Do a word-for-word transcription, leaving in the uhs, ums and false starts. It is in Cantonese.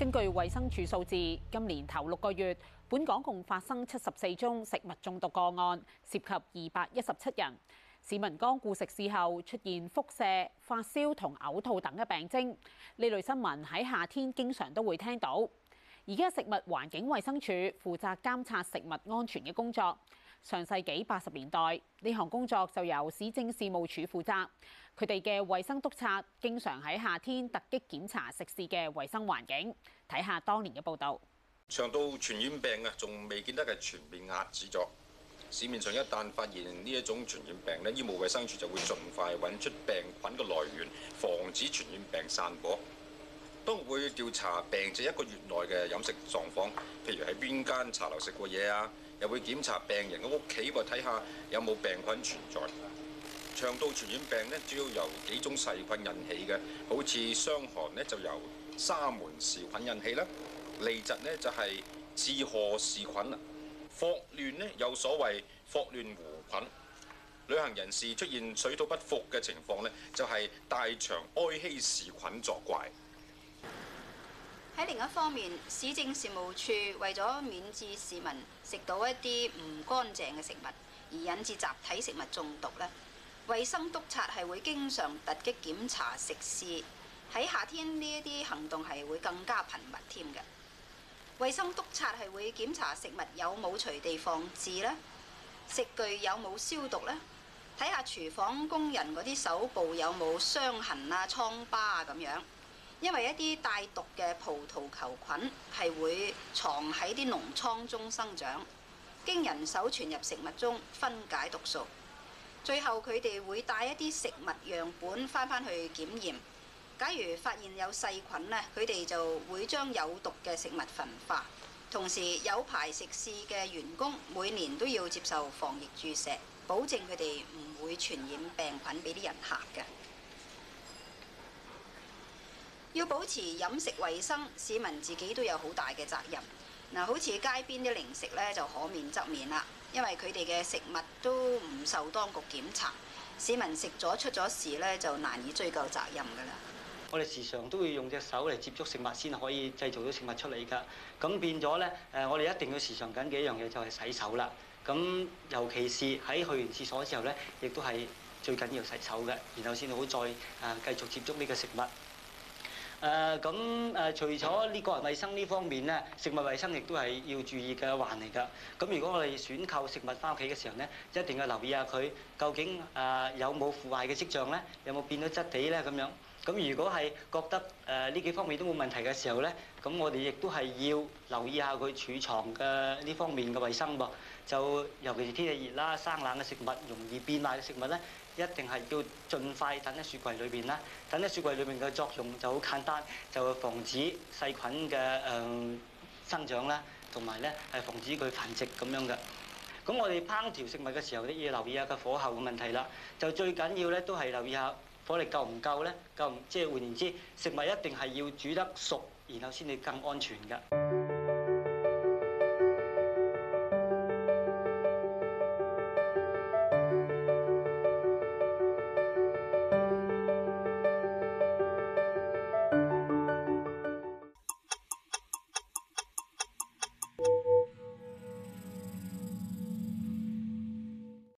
根據衛生署數字，今年頭六個月，本港共發生七十四宗食物中毒個案，涉及二百一十七人。市民光顧食肆後出現腹瀉、發燒同嘔吐等嘅病徵，呢類新聞喺夏天經常都會聽到。而家食物環境衛生署負責監察食物安全嘅工作。上世紀八十年代，呢項工作就由市政事務處負責。佢哋嘅衛生督察經常喺夏天突擊檢查食肆嘅衛生環境。睇下當年嘅報導。 腸道傳染病啊，仲未見得係全面遏止咗。市面上一旦發現呢一種傳染病咧，醫務衛生署就會盡快揾出病菌嘅來源，防止傳染病散播。當會調查病者一個月內嘅飲食狀況，譬如喺邊間茶樓食過嘢啊，又會檢查病人嘅屋企，睇下有冇病菌存在。腸道傳染病咧，主要由幾種細菌引起嘅，好似傷寒咧就由沙門氏菌引起啦，痢疾咧就係志賀氏菌啦，霍亂咧有所謂霍亂弧菌。旅行人士出現水土不服嘅情況咧，就係大腸埃希氏菌作怪。 喺另一方面，市政事務處為咗免致市民食到一啲唔乾淨嘅食物，而引致集體食物中毒咧，衛生督察係會經常突擊檢查食肆。喺夏天呢一啲行動係會更加頻密添嘅。衛生督察係會檢查食物有冇隨地放置咧，食具有冇消毒咧，睇下廚房工人嗰啲手部有冇傷痕啊、瘡疤啊咁樣。因為一啲帶毒嘅葡萄球菌係會藏喺啲膿瘡中生長，經人手傳入食物中分解毒素，最後佢哋會帶一啲食物樣本翻返去檢驗。假如發現有細菌咧，佢哋就會將有毒嘅食物焚化。同時有牌食肆嘅員工每年都要接受防疫注射，保證佢哋唔會傳染病菌俾啲人客嘅。要保持飲食衛生，市民自己都有好大嘅責任。嗱，好似街邊啲零食咧，就可免則免啦，因為佢哋嘅食物都唔受當局檢查，市民食咗出咗事咧，就難以追究責任㗎啦。 我哋時常都會用隻手嚟接觸食物先可以製造到食物出嚟㗎。咁變咗咧，誒，我哋一定要時常緊記一樣嘢，就係洗手啦。咁尤其是喺去完廁所之後咧，亦都係最緊要洗手嘅，然後先好再誒繼續接觸呢個食物。誒咁誒，除咗呢個人衞生呢方面咧，食物衞生亦都係要注意嘅一環嚟㗎。咁如果我哋選購食物翻屋企嘅時候咧，一定要留意下佢究竟誒、呃、有冇腐壞嘅跡象咧，有冇變咗質地咧咁樣。咁如果係覺得誒呢、呃、幾方面都冇問題嘅時候咧，咁我哋亦都係要留意下佢儲藏嘅呢方面嘅衞生噃。就尤其是天氣熱啦、生冷嘅食物、容易變壞嘅食物咧，一定係要盡快等喺雪櫃裏邊啦。等喺雪櫃裏邊嘅作用就好簡單，就防止細菌嘅誒、呃、生長啦，同埋咧係防止佢繁殖咁樣嘅。咁我哋烹調食物嘅時候咧，要留意下個火候嘅問題啦。就最緊要咧都係留意下火力夠唔夠咧，夠唔即係換言之，食物一定係要煮得熟，然後先至更安全㗎。